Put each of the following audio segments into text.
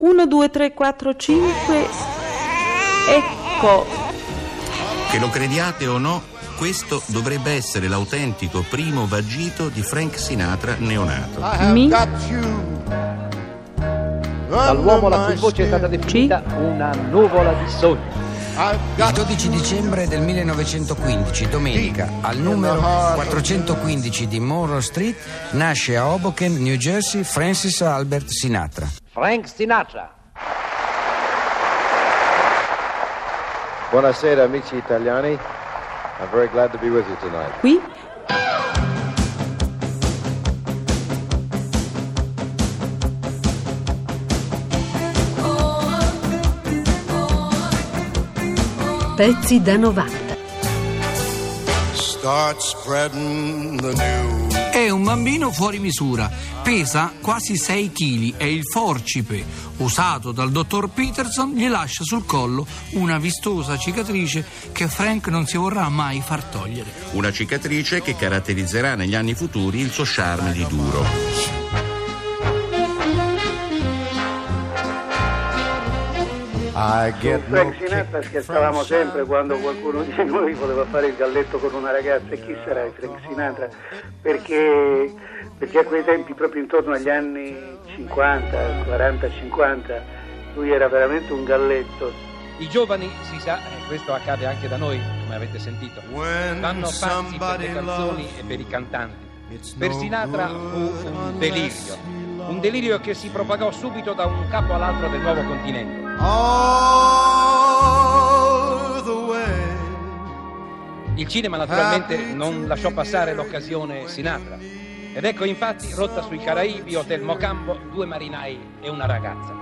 1, 2, 3, 4, 5. Ecco. Che lo crediate o no, questo dovrebbe essere l'autentico primo vagito di Frank Sinatra neonato. Dall'uomo la cui voce è stata definita una nuvola di sogni. Il 12 dicembre del 1915, domenica, al numero 415 di Monroe Street, nasce a Hoboken, New Jersey, Francis Albert Sinatra. Frank Sinatra. Buonasera amici italiani. I'm very glad to be with you tonight. Qui Pezzi da 90. Start spreading the news. È un bambino fuori misura, pesa quasi 6 kg e il forcipe usato dal dottor Peterson gli lascia sul collo una vistosa cicatrice che Frank non si vorrà mai far togliere. Una cicatrice che caratterizzerà negli anni futuri il suo charme di duro. Su Frank Sinatra scherzavamo sempre quando qualcuno di noi voleva fare il galletto con una ragazza. E chi sarà il Frank Sinatra? Perché a quei tempi, proprio intorno agli anni 50, 40-50, lui era veramente un galletto. I giovani, si sa, e questo accade anche da noi, come avete sentito, vanno pazzi per le canzoni e per i cantanti. Per Sinatra fu un delirio che si propagò subito da un capo all'altro del nuovo continente. Il cinema naturalmente non lasciò passare l'occasione Sinatra, ed ecco infatti Rotta sui Caraibi, Hotel Mocambo, 2 marinai e una ragazza.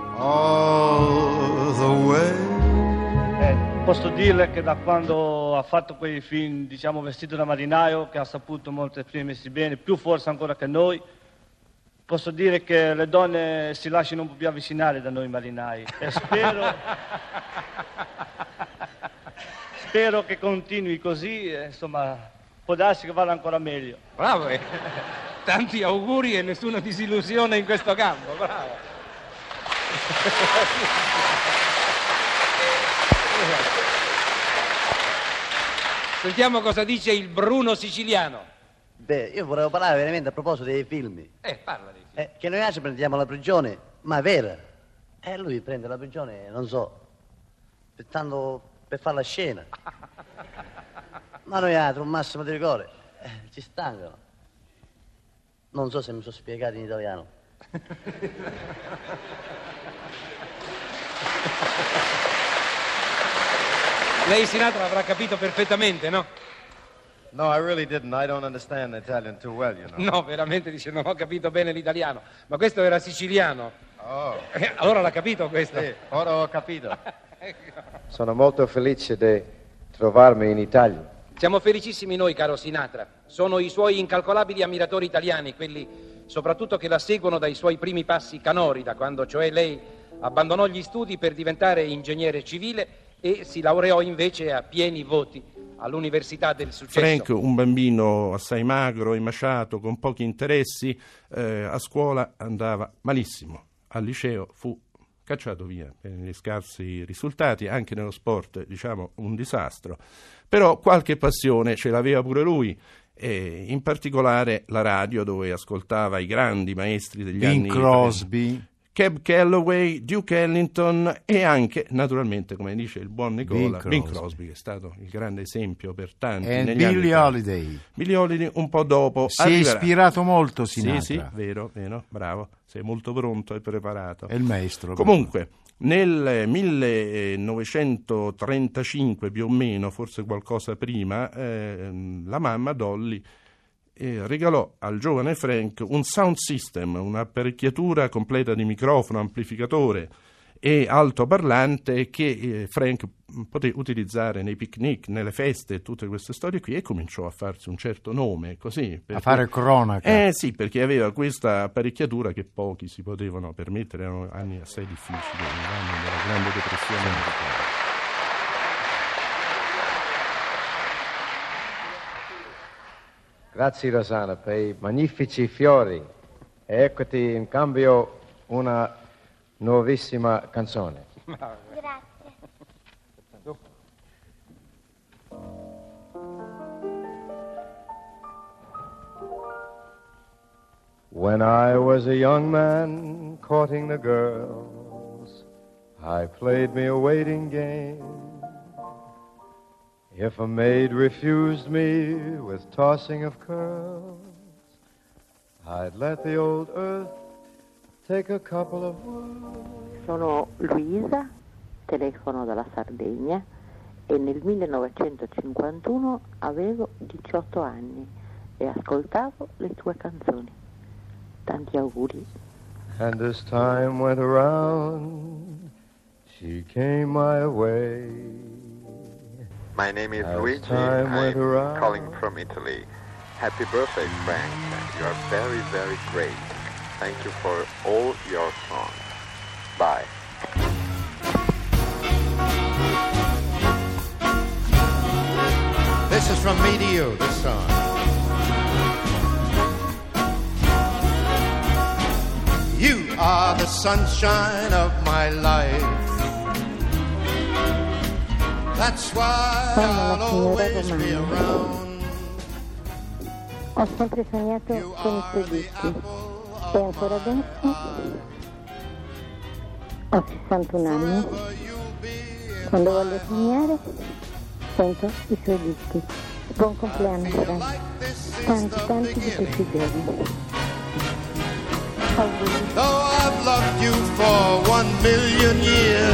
Posso dirle che da quando ha fatto quei film, diciamo, Vestito da marinaio, che ha saputo molto esprimersi bene, più forse ancora che noi, posso dire che le donne si lasciano un po' più avvicinare da noi marinai e spero che continui così, insomma, può darsi che vada ancora meglio. Bravo, tanti auguri e nessuna disillusione in questo campo, bravo. Sentiamo cosa dice il Bruno siciliano. Beh, io volevo parlare veramente a proposito dei film. Parla dei film. Che noi altri prendiamo la prigione, ma è vera. Lui prende la prigione, non so, per fare la scena. Ma noi altri, un massimo di rigore, ci stancano. Non so se mi sono spiegato in italiano. Lei Sinatra avrà capito perfettamente, no? No, I really didn't. I don't understand Italian too well, you know. No, veramente dice non ho capito bene l'italiano. Ma questo era siciliano. Oh. Allora l'ha capito questo? Sì, ora ho capito. Sono molto felice di trovarmi in Italia. Siamo felicissimi noi, caro Sinatra. Sono i suoi incalcolabili ammiratori italiani, quelli soprattutto che la seguono dai suoi primi passi canori, da quando cioè lei abbandonò gli studi per diventare ingegnere civile e si laureò invece a pieni voti all'Università del Successo. Frank, un bambino assai magro, emaciato, con pochi interessi, a scuola andava malissimo. Al liceo fu cacciato via per gli scarsi risultati, anche nello sport, diciamo, un disastro. Però qualche passione ce l'aveva pure lui, e in particolare la radio, dove ascoltava i grandi maestri degli anni... Bing Crosby... Cab Calloway, Duke Ellington e anche, naturalmente, come dice il buon Nicola, Bing Crosby, che è stato il grande esempio per tanti. E negli Billie anni. Holiday. Billie Holiday un po' dopo. Si è ispirato molto Sinatra. Sì, vero, bravo, sei molto pronto e preparato. È il maestro. Comunque, nel 1935 più o meno, forse qualcosa prima, la mamma Dolly regalò al giovane Frank un sound system, un'apparecchiatura completa di microfono, amplificatore e altoparlante che Frank poté utilizzare nei picnic, nelle feste e tutte queste storie qui, e cominciò a farsi un certo nome, così. A fare cronaca. Sì, perché aveva questa apparecchiatura che pochi si potevano permettere, erano anni assai difficili, gli anni della Grande Depressione americana. Grazie Rosanna per i magnifici fiori. E eccoti in cambio una nuovissima canzone. Grazie. When I was a young man courting the girls, I played me a waiting game. If a maid refused me with tossing of curls, I'd let the old earth take a couple of whirls. Sono Luisa, telefono dalla Sardegna e nel 1951 avevo 18 anni e ascoltavo le tue canzoni. Tanti auguri. And as time went around, she came my way. My name is Luigi. I'm calling from Italy. Happy birthday, Frank. You are very, very great. Thank you for all your songs. Bye. This is from me to you, this song. You are the sunshine of my life. That's why I'll always be around. Ho sempre sognato con i tuoi dischi e ancora adesso ho 61 anni. Quando voglio sognare sento i suoi dischi. Buon compleanno, Frank. Tanti di questi giorni. Though I've loved you for 1,000,000 years,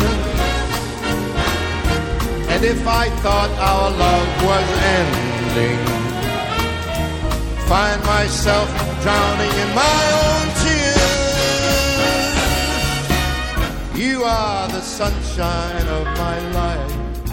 and if I thought our love was ending, find myself drowning in my own tears. You are the sunshine of my life.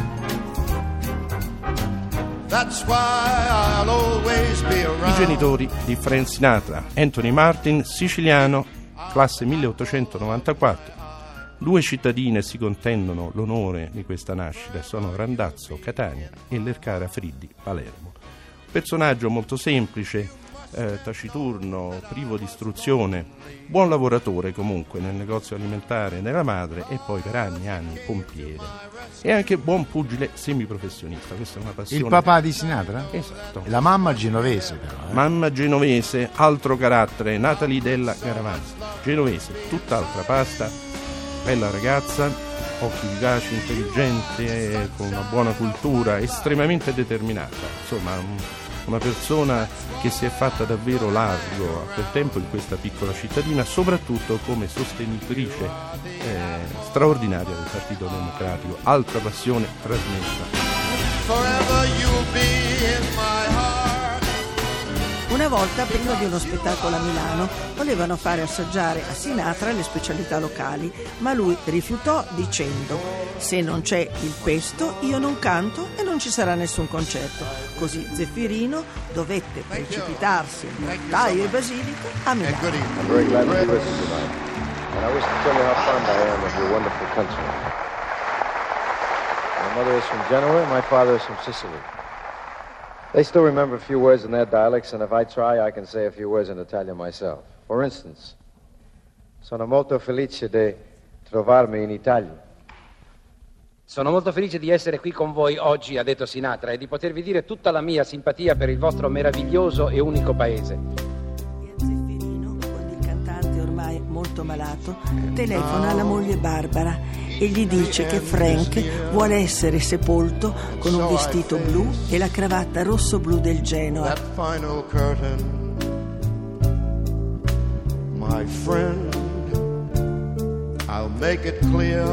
That's why I'll always be around. I genitori di Frank Sinatra, Anthony Martin, siciliano, classe 1894. Due cittadine si contendono l'onore di questa nascita, sono Randazzo, Catania e Lercara Friddi, Palermo. Personaggio molto semplice, taciturno, privo di istruzione, buon lavoratore comunque nel negozio alimentare della madre e poi per anni e anni pompiere. E anche buon pugile semiprofessionista, questa è una passione. Il papà di Sinatra? Esatto. La mamma genovese però. Mamma genovese, altro carattere, Natalie Della Garavanza, genovese, tutt'altra pasta, bella ragazza, occhi vivaci, intelligente, con una buona cultura, estremamente determinata, insomma una persona che si è fatta davvero largo a quel tempo in questa piccola cittadina, soprattutto come sostenitrice straordinaria del Partito Democratico, altra passione trasmessa. Una volta, prima di uno spettacolo a Milano, volevano fare assaggiare a Sinatra le specialità locali, ma lui rifiutò dicendo: se non c'è il pesto io non canto e non ci sarà nessun concerto. Così Zeffirino dovette precipitarsi in taglio e basilico a Milano. I'm very glad to be with you tonight, and I wish to tell you how fond I am of your wonderful country. My mother is from Genoa, and my father is from Sicily. They still remember a few words in their dialects, and if I try, I can say a few words in Italian myself. For instance, sono molto felice di trovarmi in Italia. Sono molto felice di essere qui con voi oggi, ha detto Sinatra, e di potervi dire tutta la mia simpatia per il vostro meraviglioso e unico paese. Zeffirino, quando il cantante ormai molto malato, telefona alla moglie Barbara e gli dice che Frank vuole essere sepolto con un vestito blu e la cravatta rosso-blu del Genoa. That final curtain, my friend, I'll make it clear,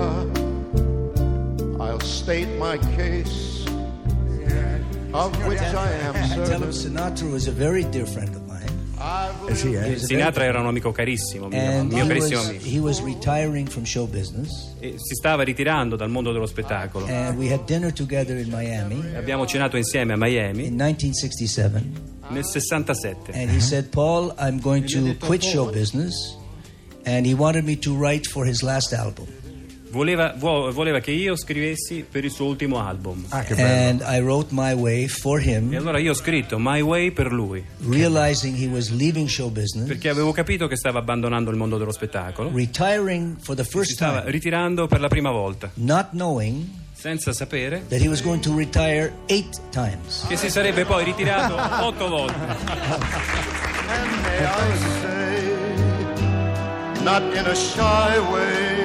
I'll state my case, of which I am certain. Tell him Sinatra was a very dear friend of mine. Sinatra era un amico carissimo, mio carissimo amico. He was retiring from show business. E si stava ritirando dal mondo dello spettacolo. And we had dinner together in Miami. Abbiamo cenato insieme a Miami. In 1967. Nel 67. And he said, Paul, I'm going to quit show business. And he wanted me to write for his last album. voleva che io scrivessi per il suo ultimo album. Che bello. And I wrote My Way for him. E allora io ho scritto My Way per lui. Realizing he was leaving show business. Perché avevo capito che stava abbandonando il mondo dello spettacolo. Retiring for the first time. Stava ritirando per la prima volta. Not knowing senza sapere that he was going to retire 8 times. Che si sarebbe poi ritirato 8 volte. And may I say, not in a shy way,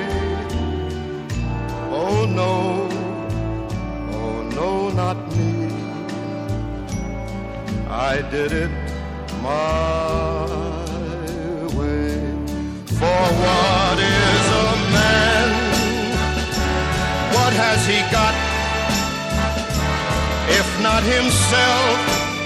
oh no, not me. I did it my way. For what is a man? What has he got? If not himself,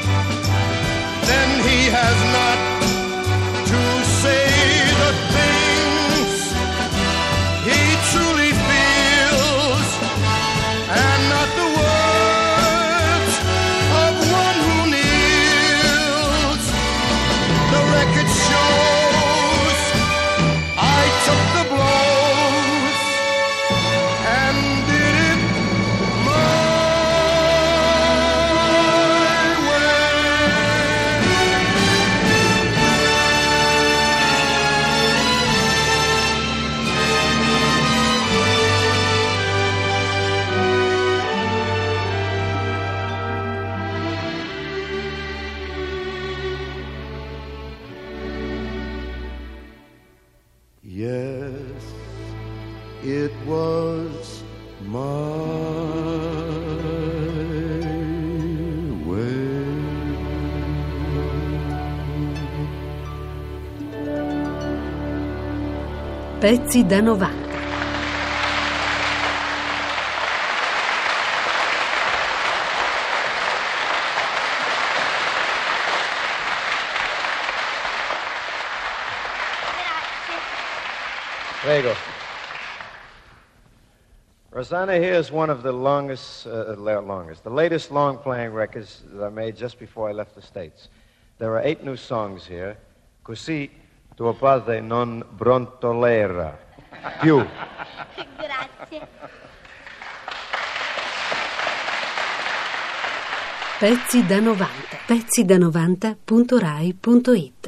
then he has not to say the things he truly feels, and not the words of one who kneels. The record shows I took the blows and did it my Yes, it was my way. Pezzi da 90. Prego. Rosanna here is one of the the latest long-playing records that I made just before I left the States. There are 8 new songs here. Così tuo padre non brontolera più. Grazie. Pezzi da 90. Pezzi da 90.rai.it